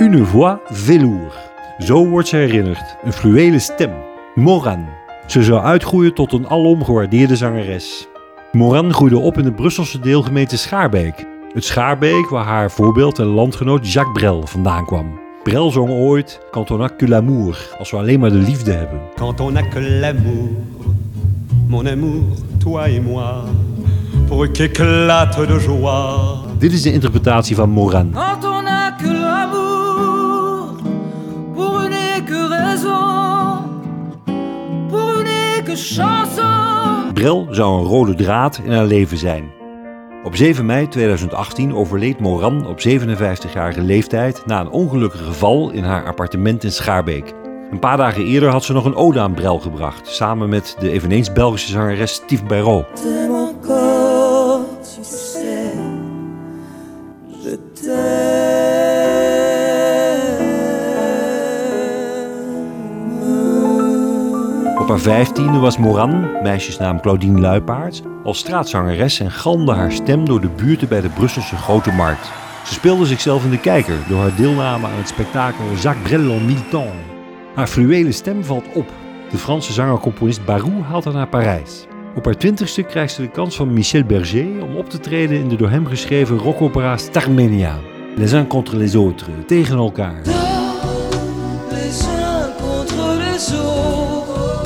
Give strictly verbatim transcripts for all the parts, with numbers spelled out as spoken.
Une voix velours. Zo wordt ze herinnerd. Een fluwelen stem. Moran. Ze zou uitgroeien tot een alom gewaardeerde zangeres. Moran groeide op in de Brusselse deelgemeente Schaarbeek. Het Schaarbeek waar haar voorbeeld en landgenoot Jacques Brel vandaan kwam. Brel zong ooit Quand on a que l'amour, als we alleen maar de liefde hebben. Quand on a que l'amour, mon amour, toi et moi, pour qu'éclate de joie. Dit is de interpretatie van Moran. Quand on a que l'amour, pour une et que raison, pour une et que chanson. Brel zou een rode draad in haar leven zijn. Op zeven mei tweeduizend achttien overleed Moran op zevenenvijftigjarige leeftijd na een ongelukkige geval in haar appartement in Schaarbeek. Een paar dagen eerder had ze nog een ode aan Brel gebracht, samen met de eveneens Belgische zangeres Steve Bayrault. Op haar vijftiende was Moran, meisjesnaam Claudine Luipaerts, als straatzangeres en galmde haar stem door de buurten bij de Brusselse Grote Markt. Ze speelde zichzelf in de kijker door haar deelname aan het spektakel Jacques Brel en mille temps. Haar fluwelen stem valt op. De Franse zanger-componist Barou haalt haar naar Parijs. Op haar twintigste krijgt ze de kans van Michel Berger om op te treden in de door hem geschreven rockopera Starmania. Les uns contre les autres, tegen elkaar. Les uns contre les autres,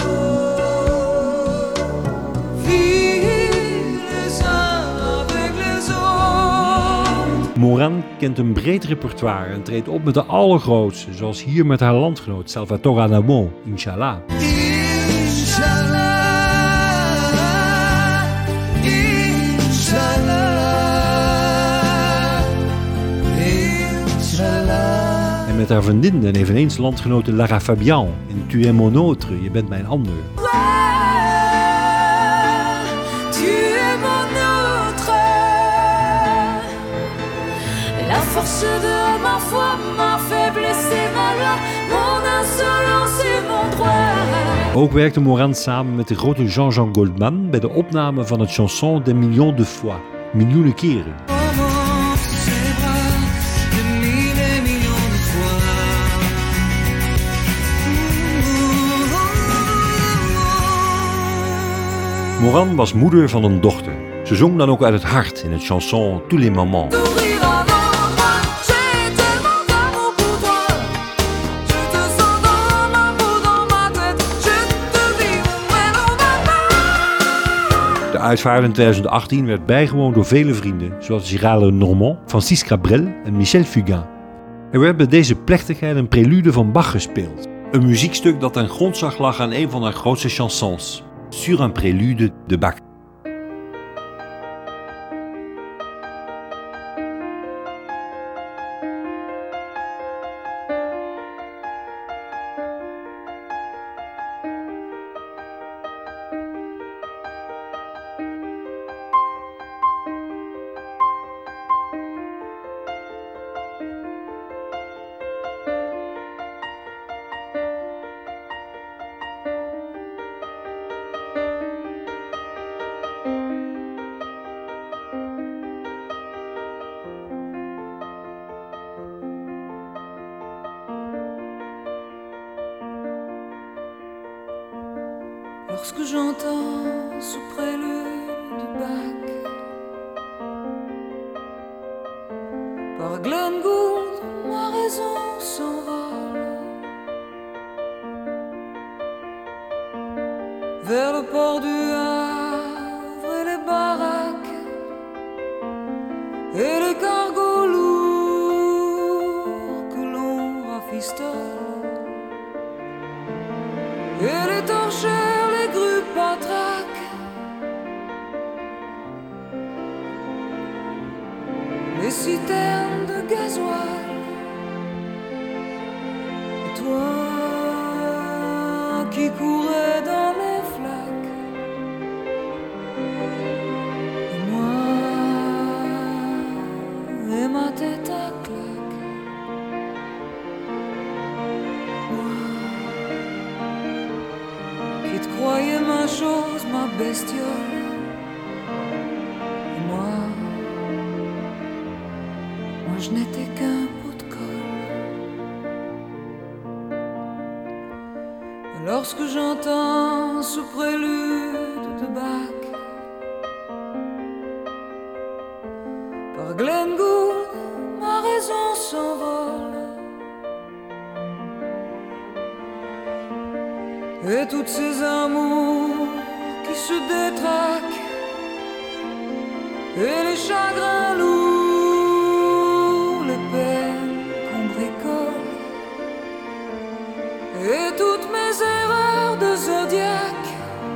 vive les uns avec les autres. Moran kent een breed repertoire en treedt op met de allergrootste, zoals hier met haar landgenoot Salvatore Adamo, Inshallah. En met haar vriendin en eveneens landgenote Lara Fabian in Tu es mon autre, je bent mijn ander. La force de ma foi, ma faiblesse et ma loi, mon insolence et mon droit. Ook werkte Moran samen met de grote Jean-Jean Goldman bij de opname van het chanson des millions de fois, miljoenen keren. Moran was moeder van een dochter. Ze zong dan ook uit het hart in het chanson Tous les moments. De uitvaart in tweeduizend achttien werd bijgewoond door vele vrienden, zoals Gérard Lenormand, Francis Cabrel en Michel Fugain. Er werd bij deze plechtigheid een prelude van Bach gespeeld. Een muziekstuk dat ten grondslag lag aan een van haar grootste chansons, Sur un prélude de Bach. Lorsque j'entends sous prélude de Bach, par Glenn Gould, ma raison s'envole vers le port du Havre et les baraques et les cargos lourds que l'on rafistole et les torchères, les grues patraques, les citernes de gasoil. Et toi qui courais dans les flaques, et moi et ma tête à claque, moi qui te croyais ma chose, ma bestiole, et moi, moi je n'étais qu'un pot de colle. Lorsque j'entends ce prélude de Bach par Glenn Gould, ma raison s'envole et toutes ces amours qui se détraquent et les chagrins lourds, les peines qu'on bricole et toutes mes erreurs de zodiaque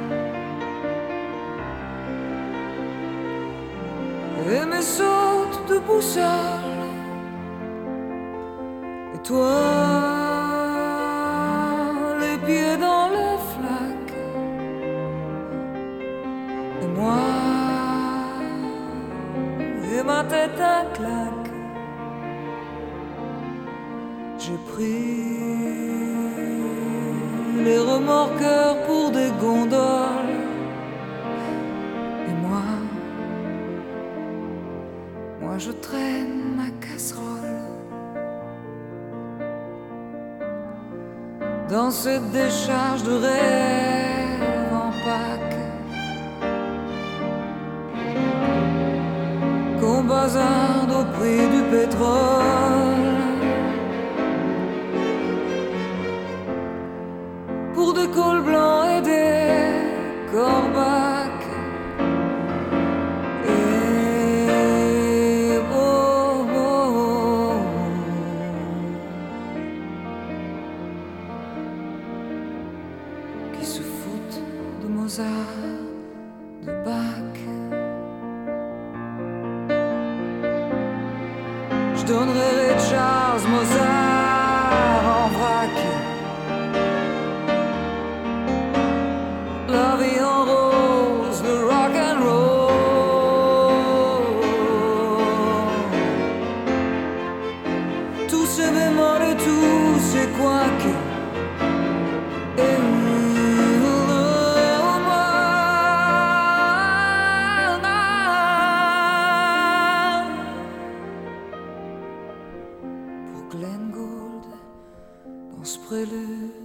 et mes sautes de boussole. Et toi, les pieds dans les flaques, et moi, et ma tête à claque. J'ai pris les remorqueurs pour des gondoles. Et moi, moi je traîne ma casserole dans cette décharge de rêve en Pâques qu'on bazarde au prix du pétrole. Pour des cols blancs et des corbacs. Et oh, oh, oh. Qui se foutent de Mozart, de Bach. Je donnerai Ray Charles, Mozart en vrac. La vie en rose, le rock and roll. Tous ces bémols et tous ces couacs. Et pour Glenn Gould, dans ce prélude